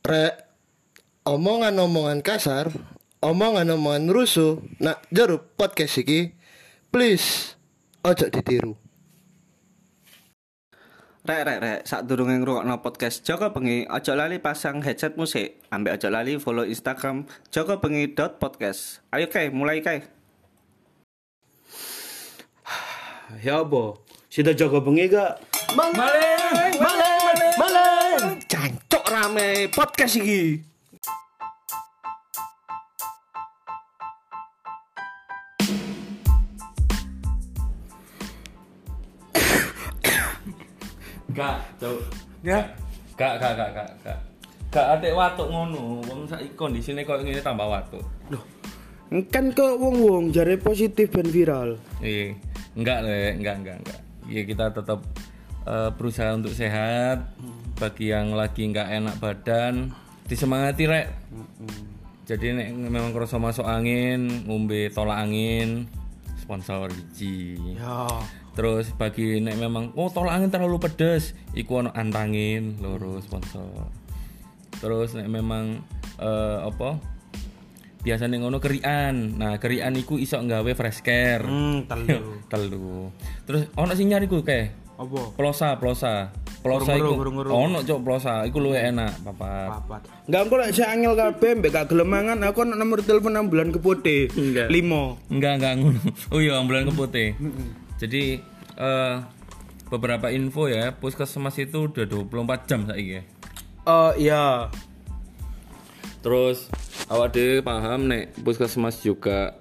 Rek, omongan-omongan kasar, omongan-omongan rusuh, nak jero podcast iki, please ojo ditiru. Rek, sadurunge ngrungokno podcast Joko Bengi, aja lali pasang headset musik, ambek aja lali follow Instagram jokobengi.podcast. Ayo kae, mulai kae. Ya apa? Sida Joko Bengi gak? Maleng. Cancok rame podcast iki. Gak, Cuk. Ya. Gak. Gak atik watuk ngono. Wong saiki kondisine koyo ngene tambah watuk. Loh. Kan kok wong-wong jare positif ben viral. Iya. Enggak. Iya kita tetap berusaha untuk sehat. Bagi yang lagi enggak enak badan, disemangati rek. Jadi nek memang kerasa masuk angin, ngombe tolak angin, sponsor hiji. Ya. Terus bagi nek memang tolak angin terlalu pedes, iku ono antangin loro sponsor. Terus nek memang biasane ngono kerian. Nah, kerian iku iso nggawe fresh care. Telu. Terus ono sing nyari ku kae. Apa? Plosa iku. Gurung-gurung. Ono cok plosa, iku luwih enak, papat. Enggak engko lek sing angel kabeh mbek gak gelem mangan aku ono nomor telepon ambulan kepote. 5. Enggak ngono. Oh iya, ambulan keputih. Jadi beberapa info ya, puskesmas itu udah 24 jam saiki ya. Iya. Terus awak dhewe paham nek puskesmas juga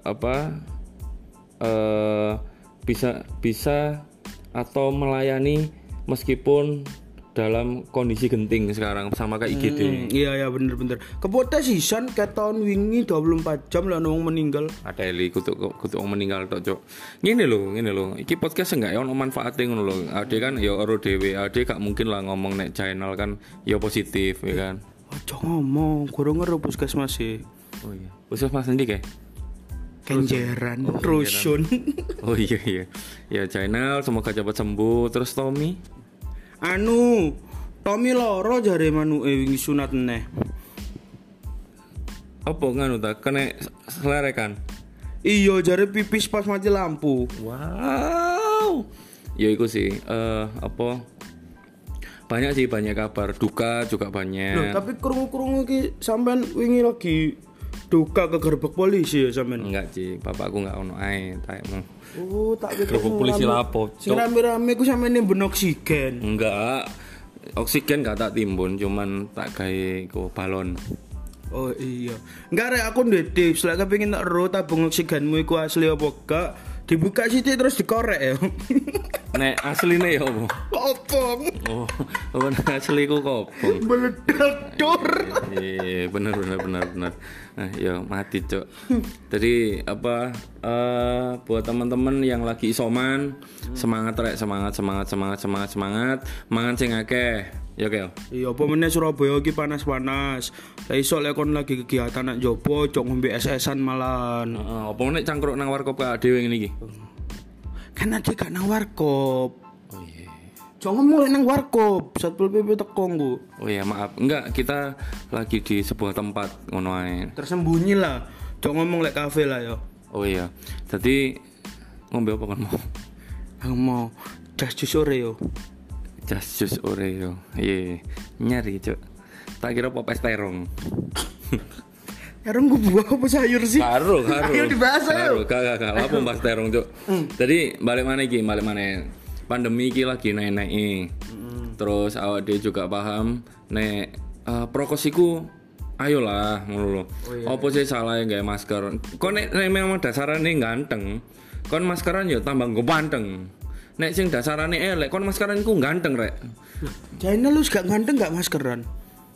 bisa atau melayani meskipun dalam kondisi genting sekarang sama kayak IGD. Iya bener. Kepote sisan ket tahun wingi 24 jam lah wong meninggal. Ada eli kutuk wong meninggal tok, Cuk. Ngene lho. Iki podcast enggak ono manfaate ngono lho. Ade kan ya ora dhewe, ade gak mungkin lah ngomong nek channel kan ya positif ya kan. Aja ngomong, kurang ngero puskesmas sih. Oh iya. Puskesmas endi kae? Kenjeran, rusun. Oh iya. Ya channel semoga cepat sembuh. Terus Tommy? Tommy loro jare manuke wingi sunat neh. Apa nganu ta kena selerekan? Iya jare pipis pas mati lampu. Wow. Ya iku sih banyak kabar duka juga banyak. Loh, tapi krungu-krungu iki sampean wingi lagi duka ke gerbek polisi ya sampean. Enggak, Ci. Bapakku enggak ono ae taekmu. Oh, tak pikir Gerbek polisi lapo, sing rame-rame ku sampean nimbun oksigen. Enggak. Oksigen gak tak timbun, cuman tak gawe ku balon. Oh iya. Enggak rek aku ndek tips, lek kepengin tak ro tabung oksigenmu iku asli apa gak, dibuka sithik terus dikorek ya. Nek asline ya opo? Kopong. Oh, asli ku kopong. Meledak dor. Iya, bener. Nah, ya mati, Cok. Jadi buat teman-teman yang lagi isoman, semangat rek, semangat. Mangan sing akeh. Ya, Kel. Iya, apa meneh Surabaya iki panas-panas. Lah iso lek kon lagi kegiatan nak jopo, cok ngombe es-esan malahan. Apa nek cangkruk nang warkop ka dhewe ngene iki? Kan ade gak nang warkop. Oh iya. Jangan mulai nang warkop, Satpol PP teko nggo. Oh iya, maaf. Enggak, kita lagi di sebuah tempat ngono ae. Tersembunyi lah. Jangan ngomong lek kafe lah ya. Oh iya. Jadi ngombe apa kan mau? Aku mau jas jus Oreo. Jas jus Oreo. Iya. Nyari, Cuk. Tak kira pop es terong. Terong gue buah apa sayur sih? Karo. Ayo dibahas ayo. Gak. Apa mbahas terong, Cuk? Jadi balik mana? Pandemi iki lagi naik-naik. Terus awak dhewe juga paham nek prokosiku ayolah ngono lho. Apa sih salah gawe masker? Kon nek memang dasarane ganteng, kon maskeran ya tambah nggo panteng. Nek sing dasarane elek, kon maskeran iku ganteng rek. Jaina lu gak ganteng gak maskeran?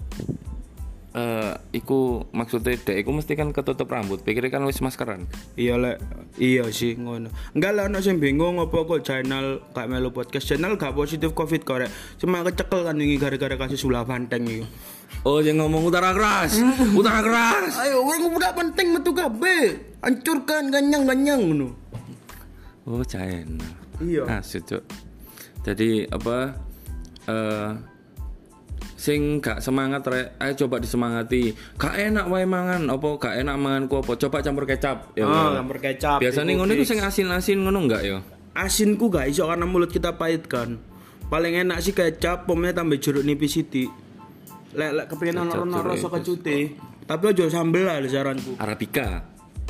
Iku maksudnya dek iku mesti kan ketutup rambut. Pikir kan wis maskeran. Iya sih ngono. Enggak lah ono sing bingung apa kok channel gak melu podcast. Channel gak positif Covid korek. Cuma kecekel kan wingi gara-gara kasus ulah banteng iki. Oh, yang ngomong utara keras. Ayo wong udah penting metu kabeh. Hancurkan ganyang-ganyang ngono. Oh, channel. Iya. Cuk. Jadi sing gak semangat rek, ayo coba disemangati. Gak enak wae mangan, apa gak enak mangan ku apa? Coba campur kecap. Ya. Campur kecap. Biasanya ngono iku sing asin-asin ngono enggak ya? Asinku gak iso karena mulut kita pahit kan. Paling enak sih kecap, pomnya tambah jeruk nipis sithik. Lek kepengin ono rasa kecute. Tapi aja sambel lah saranku. Arabica.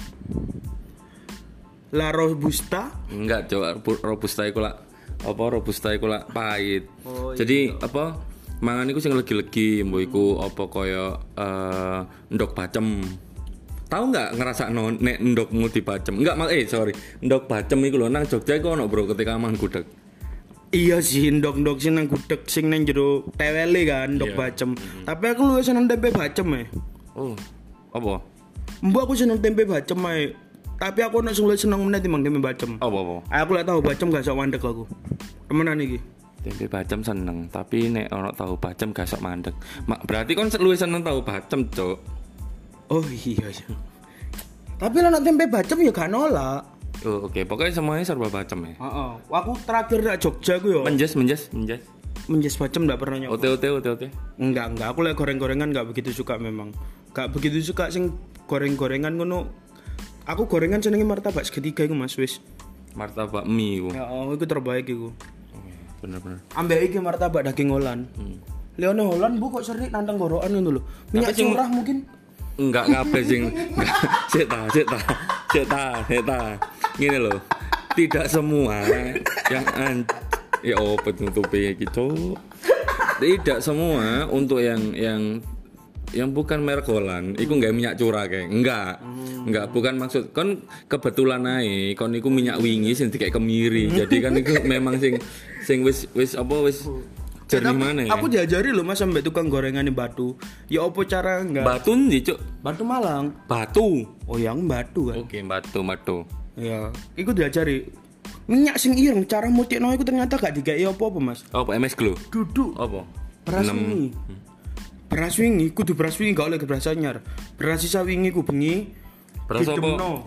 La Robusta? Enggak, Cok. Robusta iku lak apa robusta iku lak pahit. Jadi apa? Mangan iku sing legi-legi, mbok iku apa kaya ndok bacem. Tahu enggak ngrasakno nek ndokmu dibacem? Enggak, sorry. Ndok bacem iku lho nang Jogja iku ono, Bro, ketika mangan gudeg. Iya sih, ndok-ndok sing nang gudeg sing nang jero tewele kan, ndok bacem. Tapi aku luwih seneng tempe bacem Oh. Apa? Mbok aku seneng tempe bacem ae. Tapi aku nek luwih seneng meneh timbang tempe bacem. Apa? Aku lek tahu bacem gak sok mandek aku. Temenan iki. Tempe bacem seneng, tapi nek ono tahu bacem gak sok mandek. Berarti kon luwih seneng tahu bacem, Cuk. Oh iya. Tapi lah nek tempe bacem ya gak nolak. Oh, oke. Pokoknya semuanya serba bacem ya. Heeh. Aku terakhir nak Jogja ku yo. Menjes. Menjes bacem enggak pernah nyoba. Ote. Enggak. Aku lek goreng-gorengan enggak begitu suka memang. Enggak begitu suka sing goreng-gorengan ngono. Aku gorengan senenge martabak segitiga iku Mas wis. Martabak mie iku. Ya, itu terbaik iku. Bener. Ambek iki martabak daging Holland. Leone Holland bu kok sering nantang gorokan ngono lho. Minyak curah mungkin. Enggak kabeh sing Sik ta. Ngene lho. Tidak semua yang ya penutupi gitu. Tidak semua untuk yang bukan merek Holland iku enggak minyak curah kayak. Enggak, bukan maksud kon kebetulan ae kon iku minyak wingi sing dikek kemiri. Jadi kan iku memang sing wis jernih mana ya? Aku diajari loh Mas sampai tukang gorengan di Batu. Ya apa cara enggak? Batu ndi, Cuk? Batu Malang. Batu. Oh, yang Batu kan. Oke, Batu. Ya, iku diajari. Minyak sing ireng cara mutikno iku ternyata gak dikei apa-apa, Mas. Apa MS Glow? Duduk. Apa? Beras wingi. Beras wingi kudu beras wingi gak oleh beras anyar. Beras sisa wingi ku bengi. Beras apa?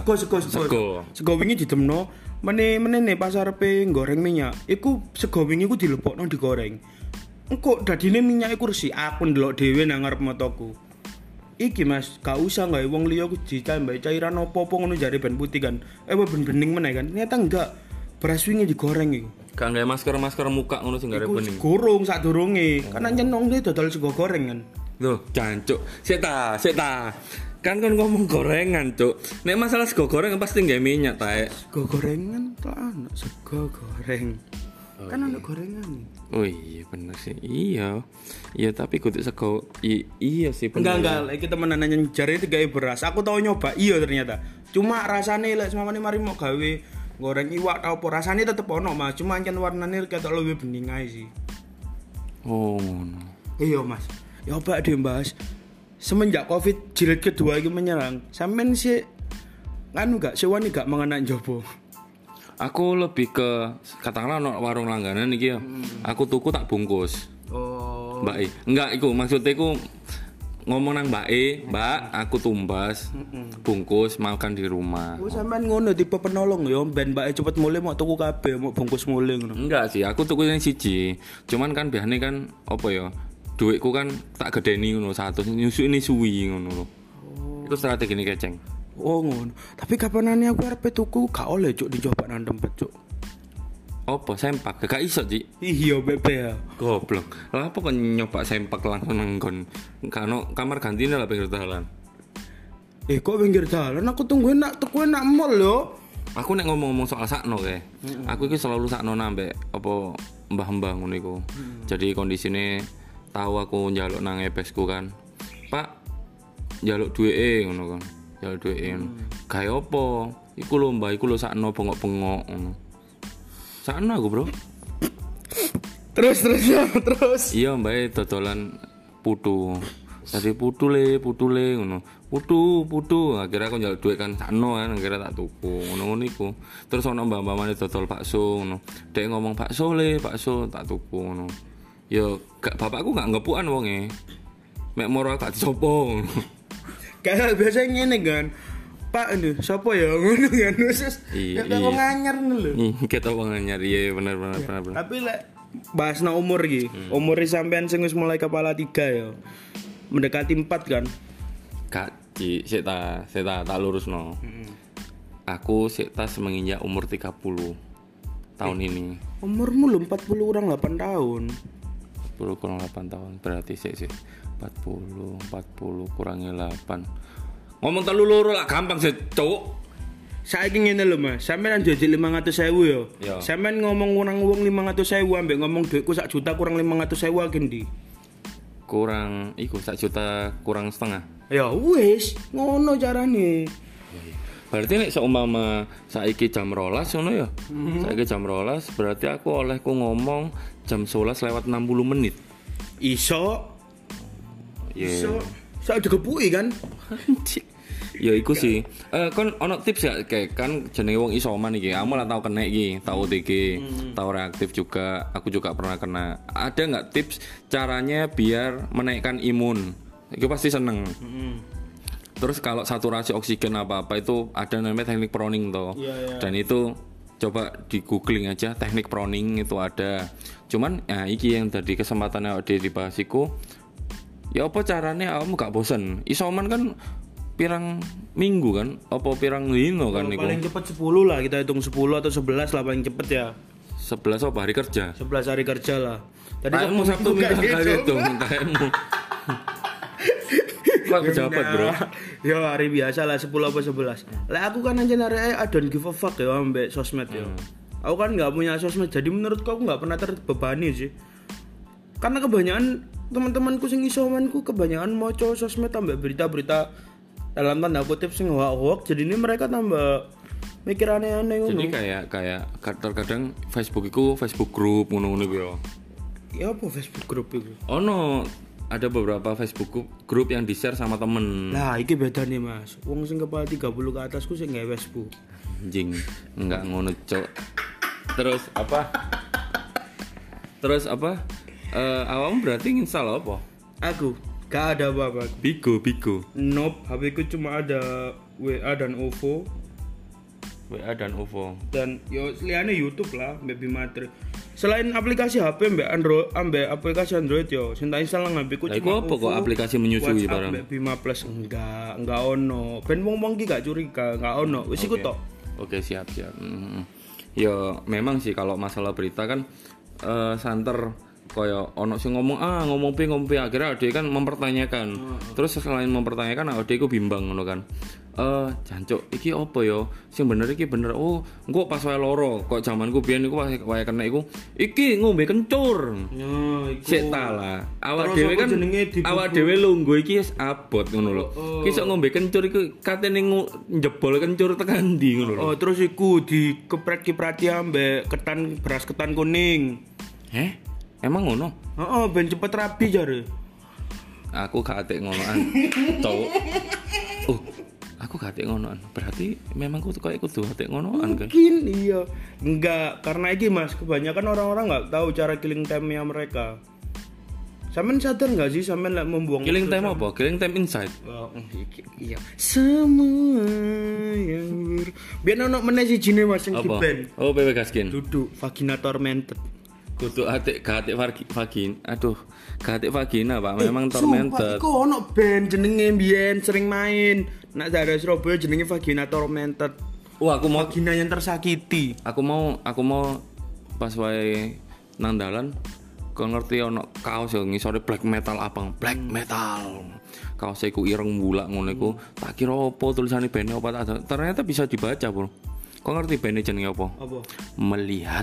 Sego wingi didemno. Menene pas arepe goreng minyak. Iku sego wingi ku dilepokno digoreng. Engko dadine minyak iku resik. Aku ndelok dhewe nang ngarep mataku. Iki Mas, gak usah gawe wong liya ku ditambah cairan apa-apa ngono jare ben putih kan. Ben bening meneh kan. Ternyata enggak. Beras wingi digoreng iku. Gak gawe masker muka ngono sing gare bening. Gorong sadurunge. Kan nyenong dhe dodol sego goreng kan. Loh, jancuk. Sik ta. Kan ngomong gorengan, Cuk. Nek masalah sego goreng pasti gawe minyak ta. Sego gorengan to anak sego goreng. Kan ana gorengan. Oh iya bener sih. Iya, tapi kudu sego. Iya sih bener. Enggak, iki temenan nanya jare digawe beras. Aku tau nyoba, iya ternyata. Cuma rasane lek semamane mari mau gawe goreng iwak apa rasane tetep ono, Mas. Cuma ancen warnane ketok luwih bening ae sih. Oh, ngono. Iya, Mas. Ya oba deh, Mas. Semenjak Covid jilid kedua iki menyerang, sampean sih anu gak sewani gak mangan njobo. Aku lebih ke katakanlah no warung langganan iki ya. Aku tuku tak bungkus. Oh. Mbak enggak iku maksudnya iku ngomong nang Mbak, aku tumbas bungkus makan di rumah. Oh, sampean ngono tipe penolong ya, ben mbake cepet mulih mau tuku kabeh, mau bungkus mulih ngono. Enggak sih, aku tuku yang siji. Cuman kan biasanya kan apa ya? Duitku kan tak gedeni ngono 100 nyusuk ini suwi ngono lho. Itu strategi ini keceng. Oh ngono. Tapi kapanane aku arep tuku gak oleh cuk dicoba nang tempat cuk. Apa sempak? Gak iso, Cik. Iya bebe ya. Goblok. Lah apa kok nyoba sempak langsung nang nggon? Kano kamar gantine lah pinggir dalan. Kok pinggir dalan aku tungguin nak tuku nak mall yo. Aku nek ngomong-ngomong soal sakno kae. Aku iki selalu sakno ambek apa mbah-mbah ngono iku. Jadi kondisine tahu aku njaluk nang EPS-ku kan. Pak, njaluk duweke ngono kan. Njaluk duweke. Gawe apa? Iku lho mbah, iku lho sakno bengok-bengok ngono. Sakno aku, Bro. Terus. Iya, mbak dodolan putu. Tadi putu le ngono. Putu. Akhirnya aku njaluk duit kan sakno kan, akhirnya tak tuku. Ngono-ngono iku. Terus ono mbak-mbakane dodol bakso ngono. Dek ngomong bakso tak tuku ngono. Yo, bapakku gak ngepukan wonge. Mek moro gak disopo. Kayak biasa ngene kan. Pak ini sapa ya ngono kan terus. Iya. Wong anyar ngono lho. Kita wong anyar iya bener. Tapi lek bahasna umur iki. Umure sampean sing wis mulai kepala 3 ya. Mendekati 4 kan? Gak Ci, sik tak lurusno. Aku sik tas menginjak umur 30 tahun ini. Umurmu lho 40 kurang 8 tahun. 10 kurang 8 tahun berarti sik 40 kurangi 8. Ngomong telu loro lah gampang sih, Cuk. Saiki ngene lho Mas, sampean jajik 500.000 yo. Yo. Sampean ngomong kurang wong 500.000 ambek ngomong duitku 1 juta kurang 500.000 akeh ndi? Kurang iku 1 juta kurang setengah. Ya wis, ngono carane. Berarti nek seumpama saiki jam 12 ngono ya. Saiki jam 12 berarti aku olehku ngomong jam 11 lewat 60 menit. Iso. Yeah. Iso. Sak digepuki kan? Ya iku sih. Kon ono tips ya kayak kan jenenge wong isoman iki. Kamu lah tau kena iki, tau OTG, tau reaktif juga. Aku juga pernah kena. Ada nggak tips caranya biar menaikkan imun? Itu pasti seneng. Terus kalau saturasi oksigen apa-apa itu ada namanya teknik proning toh. Dan itu coba di googling aja teknik proning itu ada. Cuman ya iki yang tadi kesempatannya dibahas iku. Ya apa caranya kamu gak bosen? Isoman kan pirang minggu kan? Apa pirang lino kan niku? Paling cepet 10 lah, kita hitung 10 atau 11 lah paling cepet ya. 11 apa hari kerja? 11 hari kerja lah. Tadi Kamu Sabtu Minggu kali itu kamu. Kok pejabat, Bro? Ya hari biasa lah 10 apa 11. Lah aku kan aja narek I don't give a fuck ya ambek sosmed ya. Aku kan enggak punya sosmed, jadi menurutku aku enggak pernah terbebani sih. Karena kebanyakan teman-temanku sing isomanku kebanyakan maca sosmed tambah berita-berita dalam tanda kutip sing hoax. Jadi ini mereka tambah mikir aneh-aneh ngono. Jadi kayak terkadang Facebook itu Facebook group ngono-ngono ku ya. Ya apa Facebook group itu? Ono ada beberapa Facebook group yang di-share sama temen. Lah iki beda nih Mas. Wong sing kepala 30 ke atasku sing gawe Facebook. Anjing, enggak ngono, Cok. Terus apa? Awam berarti install apa? Aku gak ada apa-apa. Bigo. Nope, HP ku cuma ada WA dan OVO WA dan OVO. dan yo liane YouTube lah, mbek Bimatri. Selain aplikasi HP mbek Android, ambek aplikasi Android yo, sing tak install nang HP ku Lah iku cuma apa kok aplikasi menyusui WhatsApp barang? mbek Bima Plus enggak ono. Ben wong-wong ki gak curiga, enggak ono. Wis iku tok. Oke, siap. Ya memang sih kalau masalah berita kan santer koyo ono sing ngomong P akhirnya ade kan mempertanyakan. Terus selain mempertanyakan ade ku bimbang ngono kan. Jancuk iki opo yo? Sing bener iki bener. Oh, engko pas wae loro. Kok zamanku biyen iku wae kena iku iki ngombe kencur. Ya, iku. Sik ta lah. Awak Terus dhewe apa kan jenenge dibubur? awak dhewe lungguh iki wis abot ngono lho. Ki sok ngombe kencur iku katene njebol kencur tekan ndi ngono lho. Oh, terus iku dikeprati ambek beras ketan kuning. Emang ngono? Heeh, ben cepet rapi jare. Aku gak atik ngonoan. Cowok. Aku gak atik ngonoan. Berarti memang kudu atik ngonoan kan. Mungkin iya. Enggak, karena iki Mas, kebanyakan orang-orang enggak tahu cara killing time-nya mereka. Sampean sadar enggak sih sampean lek membuang Killing time apa? Killing time inside. Oh, iya. Semua yang biar ono meneh sijine Mas sing Apa? di-ban. Oh, PW Gaskin. Duduk vagina tormented. Kudu atik gak atik vagina. Aduh, gak atik vagina, Pak. Memang Sumpah, tormented. iku ono band jenenge mbiyen sering main. Nak daerah Surabaya jenenge vagina tormented. Wah, aku mau Vagina yang tersakiti. aku mau pas wae nang dalan kok ngerti ono kaos yo ngisore black metal abang, black metal. Kaos iku ireng bulak ngono iku. Tak kira opo tulisane band apa tak ternyata bisa dibaca, Bro. Kok ngerti band jenenge apa? Apa? Melihat.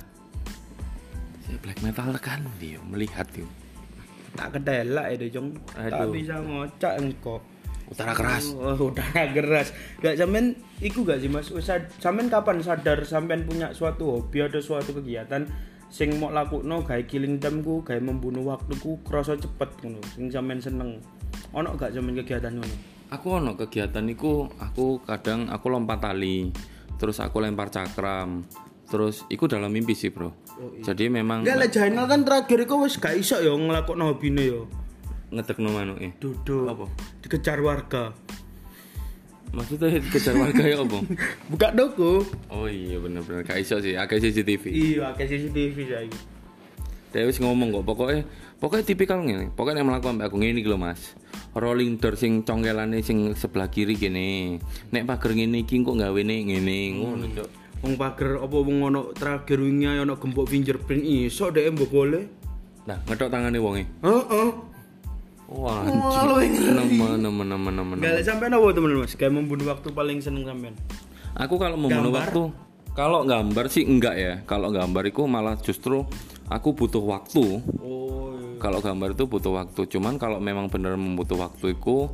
Black metal kan dia melihat itu. Tak kedelak ya Jong. Tak Aduh. bisa ngocak engko. Utara keras. Oh, udara keras. Gak sampean iku gak sih Mas? Sampean kapan sadar sampean punya suatu hobi ada suatu kegiatan sing mau lakukno gawe killing time-ku, gawe membunuh waktuku krasa cepet ngono. Sing sampean seneng. Ono gak sampean kegiatan ngono? Aku ono kegiatan iku, aku kadang aku lompat tali, terus aku lempar cakram. Terus iku dalam mimpi sih, Bro. Jadi memang Enggak lah Jainal kan terakhir iku wis gak iso ya nglakokno hobine ya. ngedekno manuke. Duduk. Apa? Dikejar warga. Maksudnya kejar warga ya apa? Buka toko. Oh iya bener-bener gak iso sih, akeh CCTV. Iya, akeh CCTV saiki. Dia wis ngomong kok pokoknya tipikal ngene. Pokoknya nek mlaku ambek aku ngene iki lho Mas. Rolling door sing congkelane sing sebelah kiri kene. Nek pager ngene iki kok gawene ngene ngono, Cuk. Wong pager apa wong ono terakhir wingi ono gembok fingerprint iso dhek mbok boleh. Nah, ngethok tangane wonge. Heeh. Wah, lu nemen. Gak sampean apa teman Mas? Kayak membunuh waktu paling seneng sampean. Aku kalau membunuh Gambar? waktu, kalau gambar sih enggak ya. Kalau gambar itu malah justru aku butuh waktu. Oh. Iya. Kalau gambar itu butuh waktu. Cuman kalau memang benar membutuh waktu itu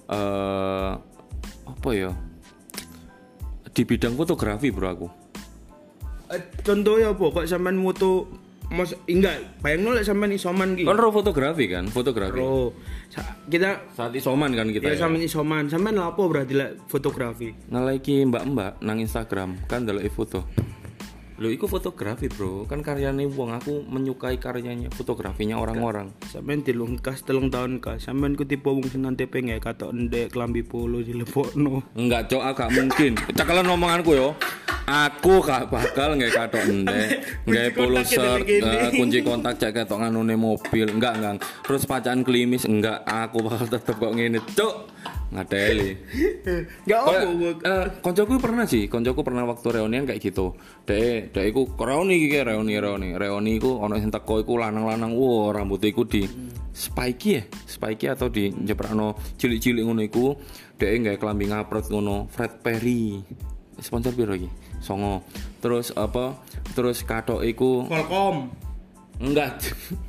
apa ya? Di bidang fotografi bro aku. Contohnya apa? Kok sampean moto Mas enggak, bayangno lek sampean isoman ki. Kan fotografi kan, fotografi. Oh. Kita Saat isoman kan kita. ya sampean isoman. Sampean lapo berarti lek fotografi? Nge-like mbak-mbak nang Instagram kan ndeloki foto. Lho iku fotografi bro, kan karyane wong, aku menyukai karyanya, fotografinya orang-orang. Sampean dilungkas 3 tahun ka. Sampean ku tipe wong sing nanti pengen katok ndek klambi polo dilebokno. Enggak cok, agak mungkin. Cekelan omonganku yo. Aku gak bakal nggak katok ndek, nggak polo shirt, kunci kontak cek ketok nganune mobil, enggak. Terus pacaan klimis enggak, aku bakal tetep kok ngene, cuk. Ngadeli. Enggak apa. Koncoku pernah waktu reunian kayak gitu. Dek iku reuni iki reuni iku ono sing teko iku lanang-lanang, wow rambutnya iku di spiky atau di jeprakno cilik-cilik ngono iku. Dek nggae klambi ngaprot ngono, Fred Perry. Sponsor piro iki? 9. Terus apa? Terus katok iku Volcom. enggak.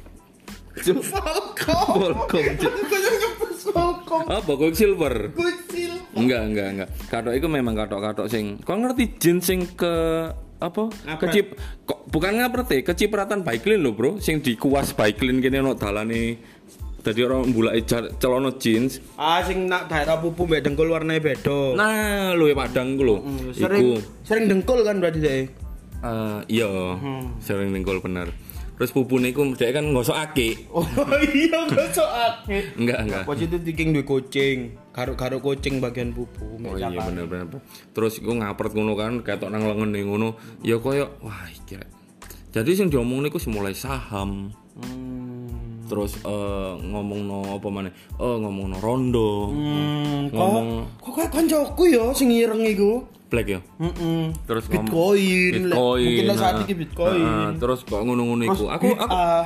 Volcom. Apa Quicksilver? Kucil. Enggak. Katok iku memang katok-katok sing kok ngerti jin sing ke apa? Ngapret. Bukan ngapret kecipratan baiklin lho, Bro. Sing dikuas baiklin kene ono dalane. Dadi orang mbulake celana jeans. Sing nak daerah pupu mbek dengkul warnanya beda. Nah, luwe padang ku lho. Sering dengkul kan berarti deh. Iya, sering dengkul bener. Terus pupune iku dhek kan ngosokake. Oh iya gosokake. Enggak. Positif thinking duwe kucing. Karo kucing bagian pupu. Oh iya bener. Terus iku ngapret ngono kan, ketok nang lengene ngono. Ya koyo wah iki. Jadi sing diomongne iku mulai saham. Terus ngomongno apa maneh? Ngomongno rondo. Kok kayak kancaku ya sing ireng iku. Black ya. Terus Bitcoin. Mungkin lah saat ini Bitcoin. Terus kok ngono-ngono iku. Aku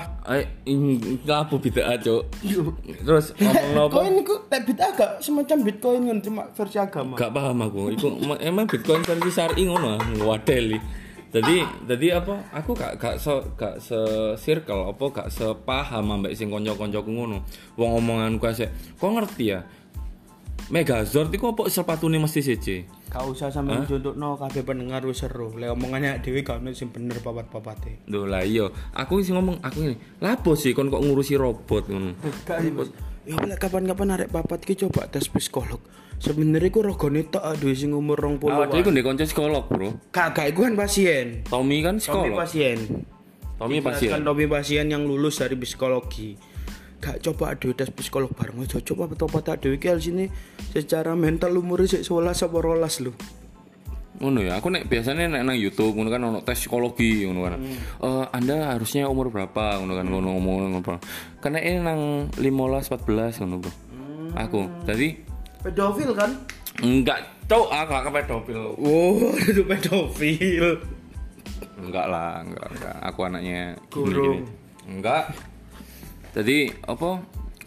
ngapu bid'ah, Cuk. Terus ngomongno apa? Bitcoin iku bid'ah gak semacam Bitcoin kan cuma versi agama. Gak paham aku. Iku emang Bitcoin versi syar'i ngono, ngewadeli. Jadi apa? Aku gak se-circle apa gak sepaham ambek sing kanca-kancaku ngono. Wong omonganku asik. Kok ngerti ya? Megazord iku apa sepatune mesti siji? Gak usah sampeyan contohno kabeh pendengar wis seru. Lek omongannya dhewe gak ono sing bener papat-papate. Lho lah iya. Aku sing ngomong aku ngene. Lapo sih kon kok ngurusi robot ngono? Gak ya lek kapan-kapan arek papat ki coba tes psikolog. Sebenarnya iku regane tok aduh sing umur 20. Awake iku ndek kanca psikolog, Bro. Kagak iku kan pasien. Tommy kan psikolog. Tommy pasien yang lulus dari psikologi. Gak coba aduh tes psikolog bareng aja coba apa tak aduh iki sini secara mental umure sik 11 apa 12 lho. Ngono ya, aku biasanya nang YouTube ngono kan ono tes psikologi ngono kan. Anda harusnya umur berapa ngono kan ngomong apa. Karena ini nang 15 14 ngono, Bro. Aku. Jadi pedofil kan? Enggak, cok, agak pedofil. Oh, itu pedofil. Enggak. Aku anaknya guru. Enggak. Jadi apa?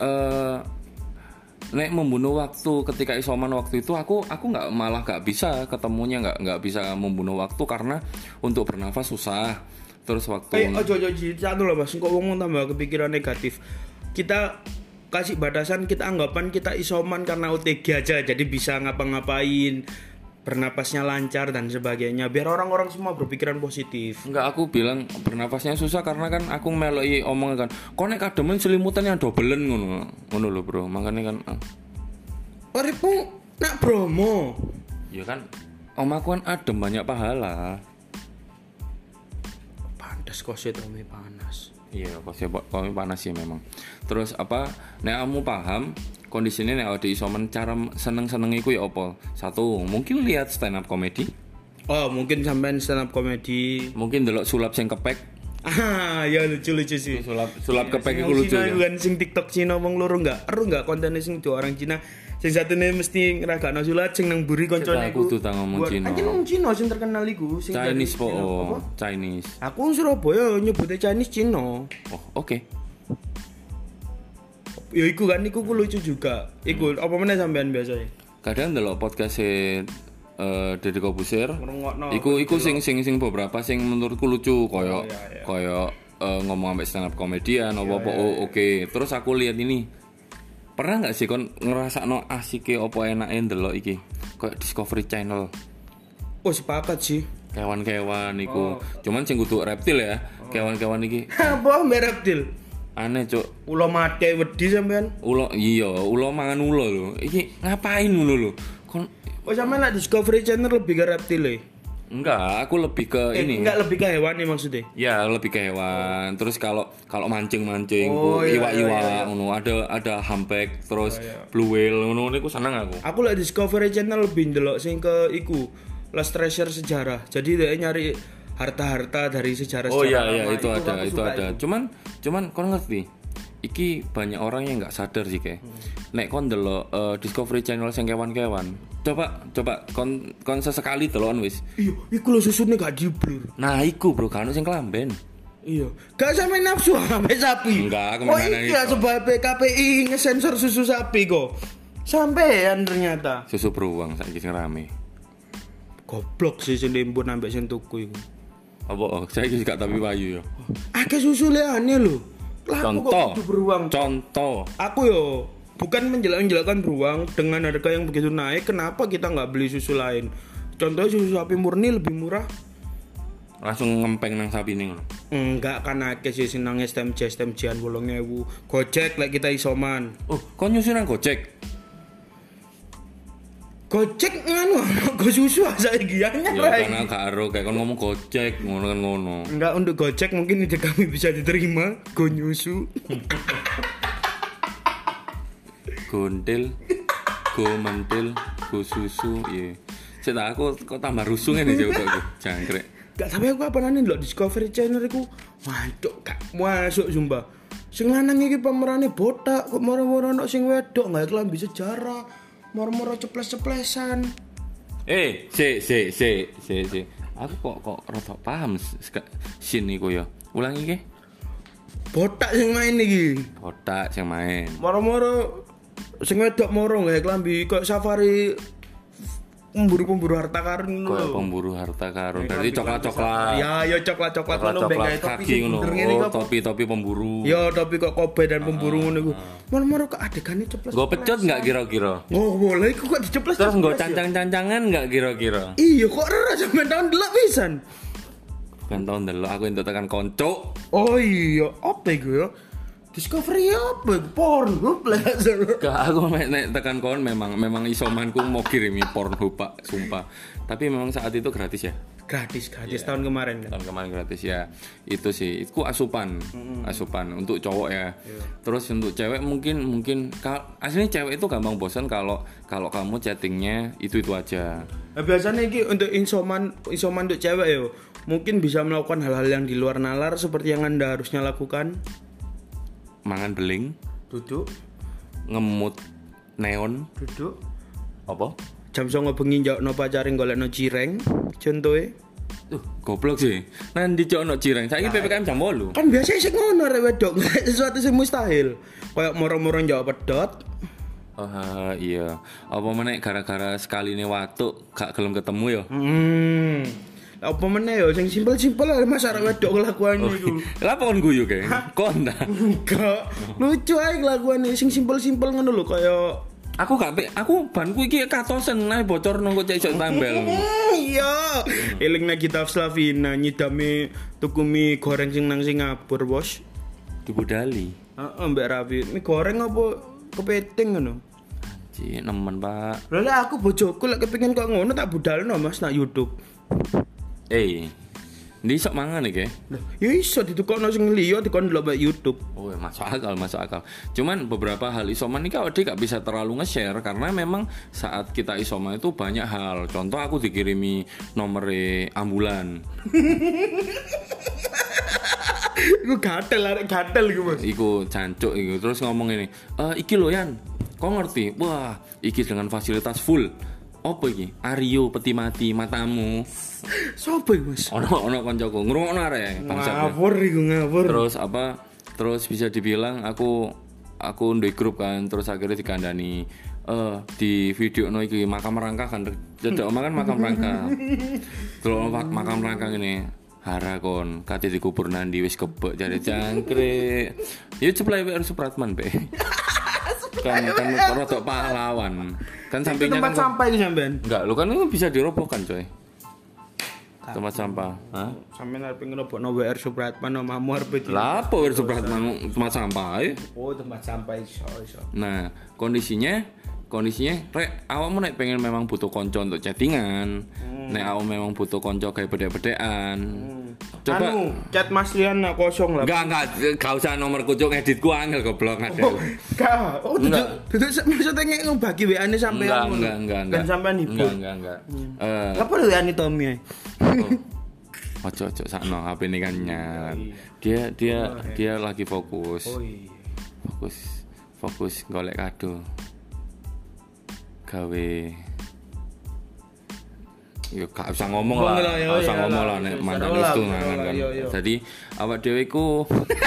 Nek membunuh waktu ketika isoman waktu itu aku nggak bisa ketemunya nggak bisa membunuh waktu karena untuk bernafas susah. Terus waktu ojo satu loh Mas, kok ngomong tambah kepikiran negatif. Kita kasih batasan, kita anggapan kita isoman karena OTG aja, jadi bisa ngapa-ngapain, bernapasnya lancar dan sebagainya, biar orang-orang semua berpikiran positif. Enggak, aku bilang bernapasnya susah karena kan aku meloki omongan kan kok nek kademen selimutan yang dobelen ngono lho, Bro. Makanya kan uripmu nak Bromo. Ya kan omaku kan adem banyak pahala. Pantes kok sih Tommy panas. Iya, pasti kami panas sih memang. Terus apa? Nek kamu paham kondisinya nek di isoman cara seneng-senengiku ya apa? Satu, mungkin lihat stand up comedy. Oh, mungkin sampean stand up comedy. Mungkin delok sulap sing kepek. Ya lucu-lucu sih. Sulap kepek iku lucu. Cina Ya. kan sing TikTok Cina wong loro enggak. Eru enggak kontennya sing dua orang Cina. Sing satune mesti ngeragakno sulat sing nang mburi koncone Aku tuh tak ngomong Cina. Anjir wong Cina sing terkenal iku sing Chinese dari po. Cina. Apa? Chinese. Aku wong Surabaya nyebutnya Chinese Cina. Oh, oke. Ya iku kan iku lucu juga. Iku apa meneh sampean biasa ya? Kadang ndelok podcast Deddy Kobusir. Ngrungokno. Iku sing beberapa sing menurutku lucu koyo iya. koyo ngomong sampai stand up komedian apa oke. Terus aku lihat ini. Pernah nggak sih kon ngerasakno asike opo enake ndelok iki? Kayak Discovery Channel. Oh sepakat sih. Kewan-kewan iku. Cuman sing kudu reptil ya. Kewan-kewan iki Apa mereptil? aneh, Cuk. Ulo mate wedi sampean. Ulo mangan ulo lho. Iki ngapain ngono lho? Kon Oh sampean lah Discovery Channel lebih ke reptil ya? enggak, aku lebih ke ini. Enggak lebih ke hewan nih maksudnya. Ya lebih ke hewan. Terus kalau mancing-mancing, iya, iwa-iwa, ngono ada humpback, terus blue whale, ngono niku seneng aku. Aku liat Discovery Channel lebih ndelok sing ke iku Lost Treasure sejarah. Jadi dia nyari harta-harta dari sejarah. Oh iya lama. itu aku ada. suka itu. Cuman kon ngerti? Iki banyak orang yang nggak sadar sih kayak. Nek kon ndelok Discovery Channel sing kewan-kewan. Coba kon sesekali delokan wis. Iya, iku lho susune gak diblur. Nah, iku bro, kan sing kelamben. Iya. Gak sampe nafsu sampe sapi. Enggak, aku Oh mengenai iya itu. sebab KPI ngesensor susu sapi kok. Sampean ternyata. Susu beruang saiki sing rame. Goblok sih sing limpun ambek sing tuku iku. Apa saya iki gak tapi payu ya. Akeh susu liane lho. Lah aku kok Contoh. kudu beruang. Contoh. Aku yo bukan menjelek-jelekan beruang dengan harga yang begitu naik, kenapa kita nggak beli susu lain? Contohnya susu sapi murni lebih murah. Langsung ngempeng nang sapi ning. Enggak kan akeh sih senang STMJ-an 8.000. Gojek lek kita isoman. Oh, kon nyusun nang Gojek. Gojek nganu go susu saiki ya Ya karena gak ero kayak kon ngomong Gojek, ngono kan ngono. Enggak untuk Gojek mungkin ide kami bisa diterima. Go nyusu. Gondel, go mentil, go susu, iya. Saya aku kok tambah rusuh ngene jauh aku, jangkrik. Gak sampe aku apa nane lho Discovery Channel iku. Waduh gak masuk sumpah. Sing lanang iki pemerane botak, kok moro-moro ono sing wedok gak kelambi sejarah. Moro-moro ceples-ceplesan. Si. Aku kok rada paham sin iku ya. Ulangi iki. Botak sing main iki. Botak sing main. Moro-moro sing wedok moro gak kelambi kok safari pemburu harta karun Kayak lho. pemburu harta karun. Berarti coklat-coklat. Ya coklat-coklat ngono mbek gawe topi kaki sing ngono. bener ngene Oh, kok. topi pemburu. Ya topi kok kobe dan pemburu ngono iku. Moro-moro kok adegane ceples. Gue pecut nggak kira-kira? Oh, boleh iku kok diceples. Terus gue cancang-cancangan nggak kira-kira? Iya kok ora sampean tahun delok pisan. Bukan tahun dulu aku untuk tekan konco. Oh iya, apa iku ya? Discovery apa? Pornhub lah. Gak, aku nek tekan kon memang isomanku mau kirimi Pornhub Pak, sumpah. Tapi memang saat itu gratis ya. Gratis tahun kemarin kan. Tahun kemarin gratis ya. Itu sih, itu asupan untuk cowok ya. Terus untuk cewek mungkin aslinya cewek itu gampang bosan kalau kamu chattingnya itu aja. Nah, biasanya iki untuk isoman untuk cewek yo, mungkin bisa melakukan hal-hal yang di luar nalar seperti yang Anda harusnya lakukan. Mangan beling, Duduk, ngemut neon, duduk. apa? Jam 09.00 bengi njakno pacare golekno cireng, contohe. Goblok sih. Nanti cok no cireng. Saiki PPKM jam 8. Kan biasa sik ngono rek wedok, sesuatu sing mustahil. Kayak moro-moro njawab pedot. Oh iya. Apa meneh gara-gara sekali nih waktu gak gelem ketemu ya? Apa meneh yo sing simpel-simpel ae Mas arek wedok kelakuane iku. Lah apa kon guyu kayak? Kon ta? Enggak. Lucu ae kelakuane sing simpel-simpel ngono lho kaya Aku banku iki katosen ae bocor nang kok cek tambel. iya. Elingna kita Slavina nyidame tuku mie goreng sing nang Singapura, Bos. Dibudali. Heeh, Mbak Rafi. Mie goreng apa kepiting ngono? Ci nemen, Pak. Lah aku bojoku lek kepengin kok ngono tak budalno Mas nak YouTube. Ndi sok mangan iki? Lah, ya iso ditukokno sing liya dikon ndelok mbak YouTube. Oh, ya, masuk akal. Cuman beberapa hal isoman ini gak bisa terlalu nge-share karena memang saat kita isoman itu banyak hal. Contoh aku dikirimi nomor ambulan. Iku gatel iku, Mas. Iku jancuk iku terus ngomong ini. Iki lho Yan. Kau ngerti? Wah, iki dengan fasilitas full. Apa iki? Aryo peti mati matamu. Sopo iku, Mas? Ono kancaku ngrungokno arek bangsat. Ngawur. Terus bisa dibilang aku ndek grup kan terus akhirnya dikandani di video no iki makam rangka kan cedek omakan makam rangka. Terus makam rangka ini hara kon kate dikubur nandi wis kebek jare jangkrik. Ya ceplai WR Supratman be. kan rodok pahlawan. Kan sampingnya tempat sampah ini sampean. Enggak, lu kan bisa dirobohkan coy. Tempat sampah. Hah? Sampeyan arep ngerobokno WR Supratman omahmu arep iki. Lah apa WR Supratman tempat sampah? Oh, tempat sampah iso. Nah, kondisinya rek awakmu nek pengen memang butuh konco untuk chattingan. Nek awakmu memang butuh konco kayak bedek-bedekan. Coba chat Mas Rian nak kosong lah. Enggak usah nomor kucuk editku angel goblok ada. Duduk maksudnya ngebagi WA-ne sampean. Enggak. Dan sampean ibu. Enggak. Apa lho WA-ne Tommy? Ojo sakno HP ini kan nyala. Dia lagi fokus. Oh iya. Fokus golek kado. Gawe yo gak usah ngomong lah, nek mantan itu kan. Jadi awak dhewe ku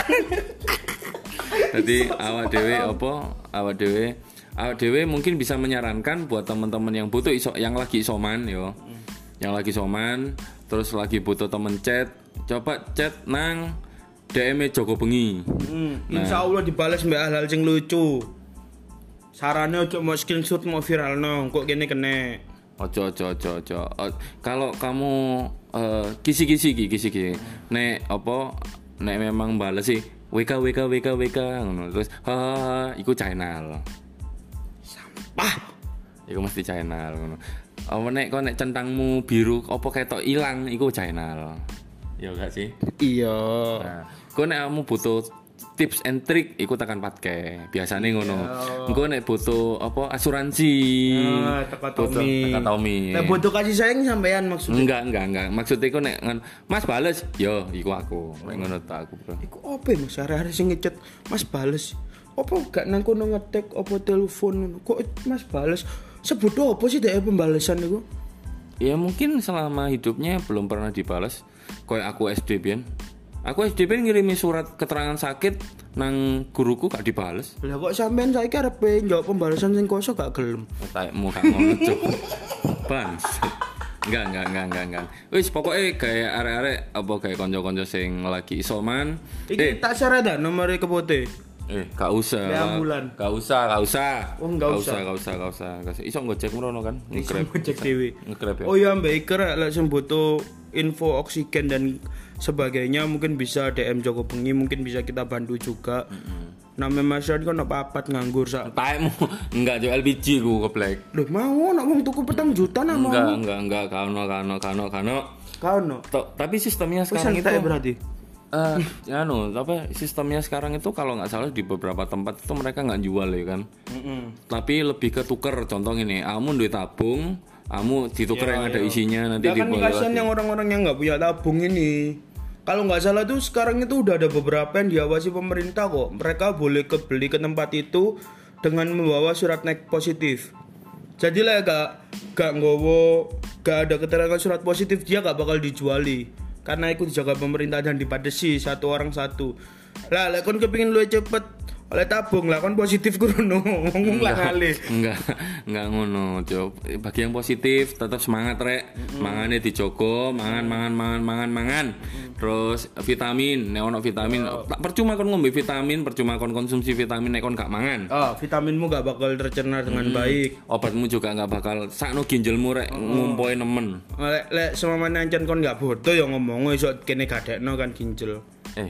awak dhewe mungkin bisa menyarankan buat teman-teman yang butuh yang lagi isoman yo. Yang lagi isoman terus lagi butuh temen chat, coba chat nang DM Joko Bengi. Insyaallah dibales mbak hal-hal sing lucu. Sarane ojo mau screenshot mau viral no, kok gini kene. Ojo. Kalau kamu kisi-kisi. Nek memang bales sih WK ngono. Terus iku channel. Sampah. Iku mesti channel ngono. Apa nek centangmu biru apa ketok ilang iku channel. Ya gak sih? Iya. Nah, kok nek kamu butuh tips and trick iku tekan patke biasane ngono. Engko nek butuh apa asuransi teka Tommy. Nek butuh kasih sayang sampean maksudnya. Enggak. Maksud iku nek Mas bales, yo iku aku. Nek ngono ta aku, Bro. Iku opo Mas arek-arek sing ngechat Mas bales. Apa gak nang kono ngetek apa telepon kok Mas bales. Sebut apa sih dek pembalasan iku? Ya mungkin selama hidupnya belum pernah dibalas. Kayak aku SD biyen. Aku SD ben ngirimi surat keterangan sakit nang guruku gak dibales. Lah kok sampean saiki arep njawab pembalasan sing kosong gak gelem. Taekmu gak ngono, Cuk. Bans. Enggak. Wis pokoke gawe arek-arek apa gawe kanca-kanca sing lagi isoman. Iki tak share dah nomor kepote. Gak usah. Gak usah. Oh, gak usah. Iso ngecek merono kan. Ngecek dhewe. Ngegrab ya. Oh ya Mbak Iker lek sing butuh info oksigen dan sebagainya mungkin bisa DM Joko Bengi, mungkin bisa kita bantu juga. Nama Mas Rian kan apa-apat nganggur sak. Taekmu enggak jual LPG ku keblek. Loh mau nak wong tuku 4 juta nak mau. Enggak kano. Kano. Tapi sistemnya sekarang itu berarti. Sistemnya sekarang itu kalau nggak salah di beberapa tempat itu mereka nggak jual ya kan. Tapi lebih ke tuker. Contoh ini, kamu duit tabung, kamu dituker yang ada isinya nanti dibawa. Kan kasihan yang orang-orang yang nggak punya tabung ini. Kalau nggak salah tuh sekarang itu udah ada beberapa yang diawasi pemerintah kok. Mereka boleh beli ke tempat itu dengan membawa surat positif. Jadi lah gak ada keterangan surat positif dia gak bakal dijuali. Karena itu dijaga pemerintah dan dibatasi satu orang satu. Lah kon kepengin luwih cepet oleh tabung lah kon positif kurono ngomong lah kali. Enggak ngono, Cuk. Bagi yang positif tetap semangat rek. Mangane dijogo, mangan. Terus vitamin, nek ono vitamin, percuma kon ngombe vitamin, percuma kon konsumsi vitamin nek kon gak mangan. Vitaminmu gak bakal tercerna dengan baik. Obatmu juga gak bakal sakno ginjalmu rek ngumpoi nemen. Lek semamane ancen kon gak bodoh ya ngomong iso kene gadekno kan ginjal.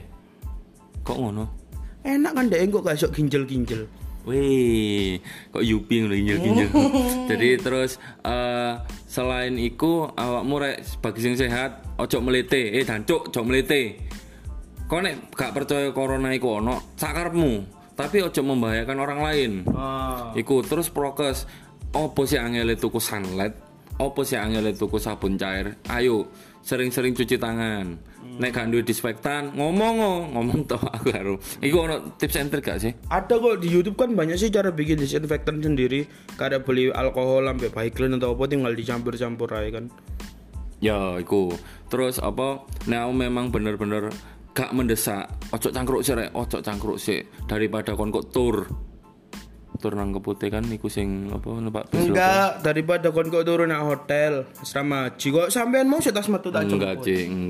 Kok ngono? Enak kan dek kok gak iso ginjal-ginjal. Wih, kok yupi ngono ginjal-ginjal. Jadi terus selain iku awakmu rek bagi sing sehat ojo melete, dancuk ojo melete. Kok nek gak percaya corona iku ono, sakarepmu, tapi ojo membahayakan orang lain. Iku terus prokes. Opo sih angele tuku sunlight? opo sih angel tuku sabun cair? Ayo sering-sering cuci tangan. Nek gak duwe disinfektan, ngomong toh aku karo. Iku ono tips and trick gak sih? Ada kok di YouTube kan banyak sih cara bikin disinfektan sendiri. Kada beli alkohol sampai Vaseline atau apa tinggal dicampur-campur aja kan. Ya, iku. Terus apa? Nek aku memang bener-bener gak mendesak, ojo cangkruk sih rek, ojo cangkruk sih daripada kon kok tur nang Keputih kan iku sing apa numpak bis Enggak, daripada kon kok turun nang hotel asrama haji kok sampean mau setas metu tak enggak.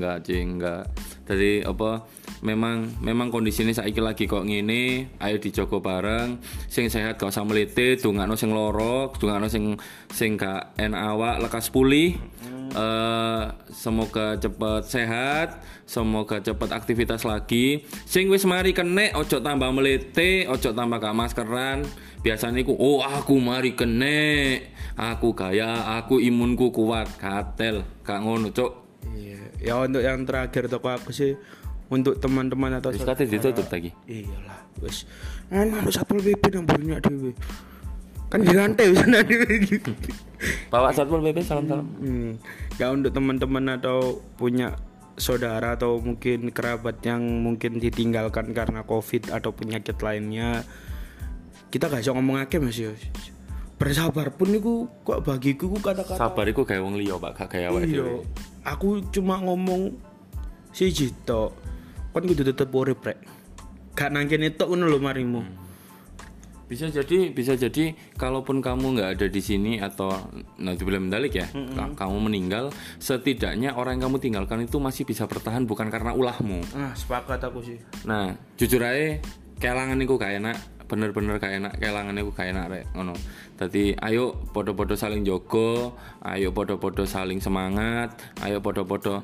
Jadi apa memang kondisi ini saiki lagi kok ngene, ayo dijogo bareng, sing sehat gak usah melete, dongakno sing loro, dongakno sing gak enak awak lekas pulih. Semoga cepat sehat, semoga cepat aktivitas lagi. Sing wis mari kene ojo tambah melete, ojo tambah gak maskeran. Biasanya aku mari kene, aku gaya, aku imunku kuat, katel, gak ngono cok. Iya, ya untuk yang terakhir toko aku sih untuk teman-teman atau wis kate ditutup lagi. Iyalah, wis. Anu Satpol PP nang bunyi dhewe. Kan di lantai sana dhewe. Bawa Satpol PP salam-salam. Ya untuk teman-teman atau punya saudara atau mungkin kerabat yang mungkin ditinggalkan karena Covid atau penyakit lainnya, kita gak bisa ngomong akeh Mas yo. Bersabar pun niku kok bagiku ku kata-kata. Sabar iku gawe wong liya, Pak, gak gawe awake dhewe. Aku cuma ngomong siji tok. Kon kudu tetep urip rek. Gak nang kene tok ngono lho marimu. Bisa jadi kalaupun kamu nggak ada di sini atau nanti belum mendalik ya, kamu meninggal, setidaknya orang yang kamu tinggalkan itu masih bisa bertahan bukan karena ulahmu. Nah, sepakat aku sih. Nah, jujur aja kelangan iku gak enak, bener-bener gak enak, kelangan iku gak enak rek ngono. Dadi ayo podo-podo saling jogo, ayo podo-podo saling semangat, ayo podo-podo.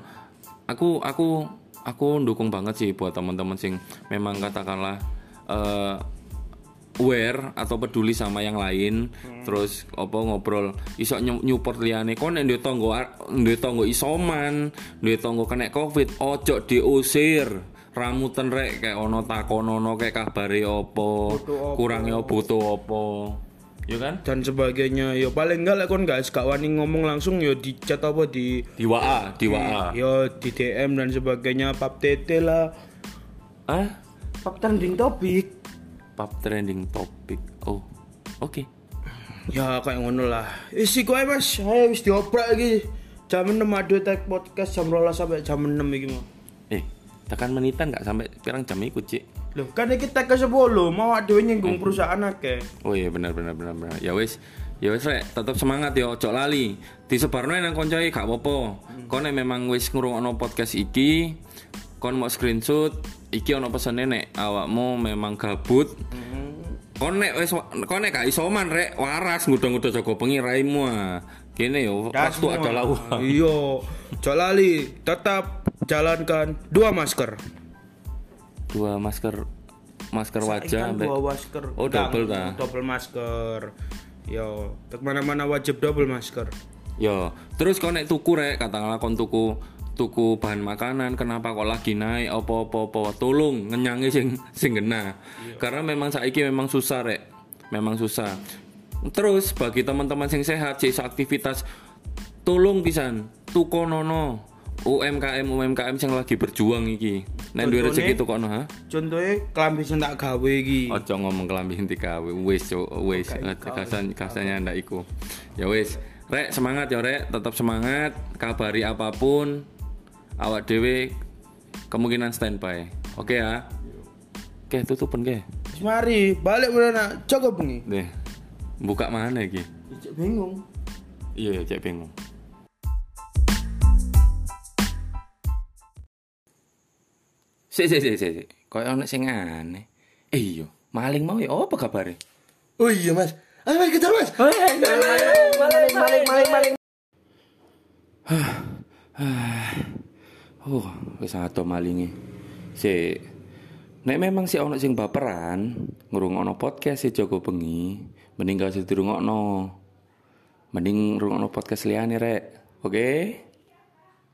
Aku dukung banget sih buat teman-teman sing memang katakanlah aware atau peduli sama yang lain, terus apa ngobrol iso nyupport liyane. Kon nek duwe tangga isoman, duwe tangga kena Covid, ojo diusir. Ramutan rek kayak ono takonono kayak kabare opo, kurangnya butuh opo. Ya kan? Dan sebagainya. Ya paling enggak lek kon gak wani ngomong langsung ya di chat apa di WA. Ya di DM dan sebagainya, pap tete lah. Pap trending topik. Oh. Oke. Ya kayak ngono lah. Isi kowe Mas, ayo wis dioprak iki. Jam 6 ado tag podcast jam 12 sampai jam 6 iki mau. Tekan menitan gak sampai pirang jam iku, Cik. Loh, kan iki tag ke 10, mau dhewe nyinggung perusahaan akeh. Oh iya benar. Ya wis rek, tetep semangat ya, ojo lali. Disebarno nang koncoe gak apa-apa. Kon nek memang wis ngrungokno podcast iki, kon mau screenshot, iki ono pesene nek awakmu memang gabut. Kon nek gak isoman rek, waras ngudang-ngudang jaga bengi raimu. Kene yo, waktu adalah uang. Iya, ojo lali, tetap jalankan 2 masker. 2 masker wajah ambek 2 masker. Oh, double ta. Double masker. Yo, ke mana-mana wajib double masker. Yo, terus kau nek tuku rek, katakanlah kon tuku bahan makanan, kenapa kok lagi naik apa-apa, tolong ngenyangi sing genah. Karena memang saiki memang susah rek. Memang susah. Terus bagi teman-teman sing sehat, sing aktivitas, tolong pisan tukonono UMKM sing lagi berjuang iki. Nek duwe rezeki tukono ha. Contohe klambi sing tak gawe iki. Ojo ngomong klambi sing digawe. Wis kasanya ndak iku. Ya wis. Rek semangat ya rek, tetap semangat. Kabari apapun awak dhewe kemungkinan standby. Oke ya. Oke, tutupen ke. Mari balik mana Joko bengi. Deh. Buka mana iki? Cek bingung. Iya, cek bingung. Sik. Kayak ono sing aneh. Iya, maling mau ya apa kabare? Oh iya Mas. Ayo Mas kita Mas. Maling. Wis ato malinge. Sik. Nek memang si ono sing baperan ngrungokno podcast si Joko bengi, mending gak usah dirungokno. Mending ngrungokno podcast liyane rek. Oke?